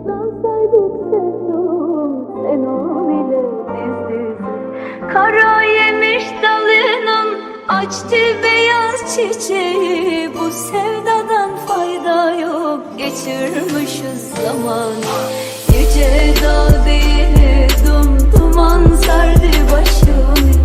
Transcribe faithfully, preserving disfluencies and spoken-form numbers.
Dansaydık sevdum sen ol ile diz dize. Kara yemiş dalının açtı beyaz çiçeği. Bu sevdadan fayda yok, geçirmişiz zamanı. Yüce dağ değil dum duman sardı başımı.